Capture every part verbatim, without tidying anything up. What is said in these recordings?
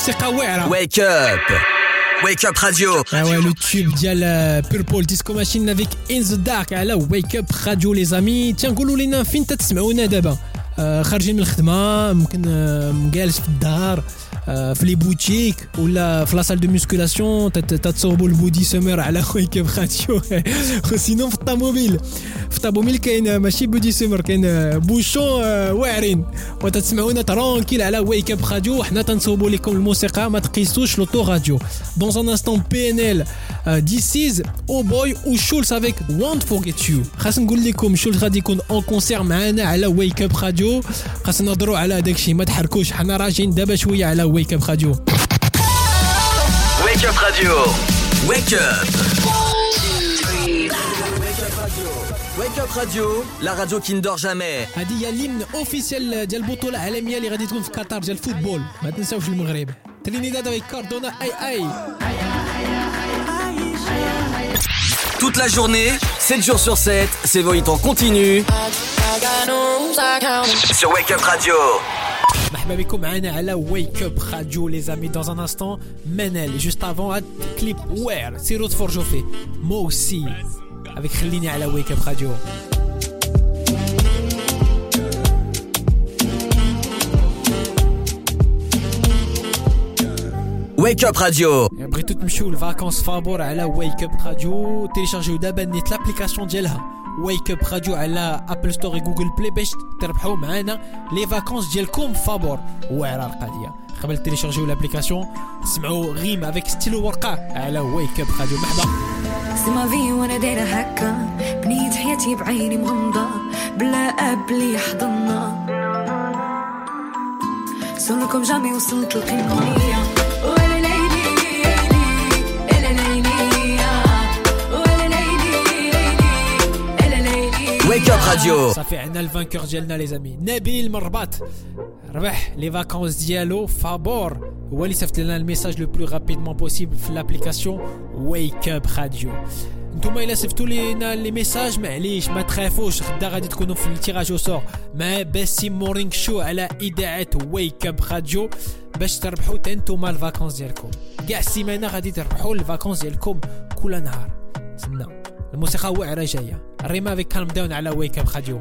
موسيقى واعرة. Wake up Wake up radio. Ah ouais, le tube ديال Purple Disco Machine avec In the Dark على Wake up radio les amis. Tiens قولوا لنا فين تتسمعونا دابا؟ آه خارجين من الخدمة ممكن آه جالس في الدار آه في لي بوتيك ولا في لا سال دو ميسكولاسيون تتصوبوا البودي سمر على ويك اب راديو. وسينو في الطوموبيل في الطوموبيل كاين ماشي بودي سمر كاين بوشون آه واعرين وتتسمعونا ترونكيل على ويك اب راديو. حنا تنصوبوا لكم الموسيقى ما تقيسوش لوطو راديو. Dans un instant بي ان ال This is Oh Boy ou Schulz avec Won't Forget You. خاص نقول لكم شولز غادي يكون اون كونسير معنا على ويك اب راديو. خاص نهضروا على هذاك الشيء ما تحركوش حنا راجعين دابا شويه على ويك اب راديو. Wake up radio. Wake up. Wake up radio, la radio qui ne dort jamais. هذه هي الهيمن اوفيسيال ديال البطوله العالميه اللي غادي تكون في قطر ديال الفوتبول. ما تنساوش المغرب. ترينيداد avec Cardona اي اي. Toute la journée, sept jours sur sept, c'est Voït en continu sur Wake Up Radio. مرحبا بكم معنا على Wake Up Radio les amis. Dans un instant, Menel. Juste avant, un clip Where سيرو تفرجوا فيه. Moi aussi avec خليني على Wake Up Radio. Wake Up Radio. بغيتو تمشيو للفاكونس فابور على Wake Up Radio. تيليشارجيو دابا نيت لابليكاسيون ديالها Wake Up Radio على ابل ستور وجوجل بلاي باش تربحوا معنا لي فاكونس ديالكم فابور. واعره القضيه. قبل تيليشارجيو لابليكاسيون سمعوا غيم افيك ستيلو ورقه على Wake Up Radio. مرحبا. سما في وانا دايره هكا بنيت حياتي بعيني مغمضه بلا اب لي يحضننا سولكم جامي وصلت القمه. Wake Up Radio. صافي عندنا الفانكور ديالنا لي زامي نبيل من الرباط ربح لي فاكونس ديالو فابور هو اللي صيفط لنا الميساج لو بلو رابيدمون بوسيبل في لابليكاسيون Wake Up Radio. نتوما الا صيفطوا لينا لي ميساج معليش ما تخافوش غدا غادي تكونوا في التيراج او سور مع باسي مورينغ شو على اذاعه Wake Up Radio باش تربحوا نتوما الفاكونس ديالكم. كاع السيمانه غادي تربحوا الفاكونس ديالكم كل نهار. سنة الموسيقى واعره جايه الريما avec calm down على Wake Up Radio.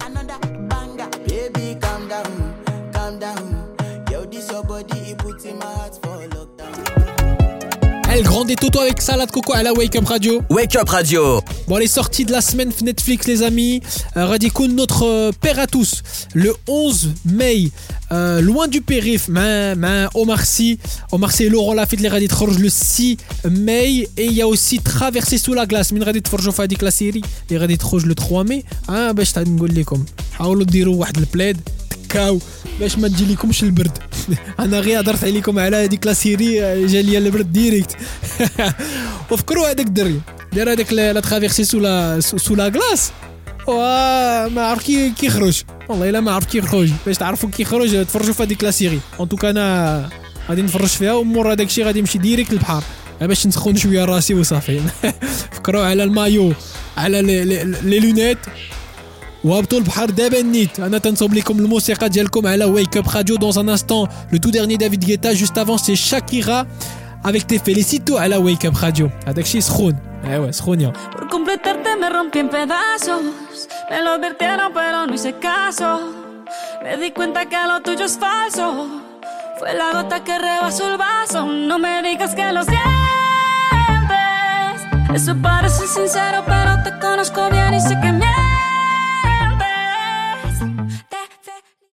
Baby calm down, calm down. Yo this your body it puts in my heart for lockdown. El Grande Toto avec Salade Coco à la Wake Up Radio. Wake Up Radio. Bon, les sorties de la semaine Netflix les amis. Euh, Radikoun notre euh, père à tous le onze mai euh, loin du périph' ma ma Omar Sy Omar Sy et Laurent Lafitte les غادي تخرج le six mai et il y a aussi Traversée sous la glace من غادي تفرجوا في هذيك لا سيري اللي غادي تخرج le trois mai. اه باش نقول لكم حاولوا ديروا واحد البلاد تكاو باش ما تجي لكمش البرد. انا غير هضرت عليكم على هذيك لا سيري جا ليا البرد ديريكت. وفكروا هذاك الدري دار هذاك لا ترافيرسي سو لا سو لا غلاس وما عرف كي كيخرج والله الا ما عرف كي يخرج. باش تعرفوا كي يخرج تفرجوا في هذيك لا سيري. ان توكا انا غادي نفرج فيها ومور هذاك الشيء غادي نمشي ديريكت للبحر باش نسخن شويه راسي وصافي. فكروا على المايو على لي لونيت وهبطوا البحر دابا نيت. انا تنصوب لكم الموسيقى ديالكم على Wake Up Radio. Dans un instant le tout dernier David Guetta. Juste avant c'est Shakira avec Te Felicito على Wake Up Radio. هذاك الشيء سخون. ايوا سخون يا Por completarte me rompí en pedazos. Me lo advirtieron pero no hice caso. Me di cuenta que lo tuyo es falso. Fue la gota que rebasó el vaso. No me digas que lo sientes. Eso parece sincero pero te conozco bien y sé que